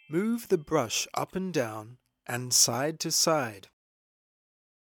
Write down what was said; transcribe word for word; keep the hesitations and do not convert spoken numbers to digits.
Move the brush up and down and side to side.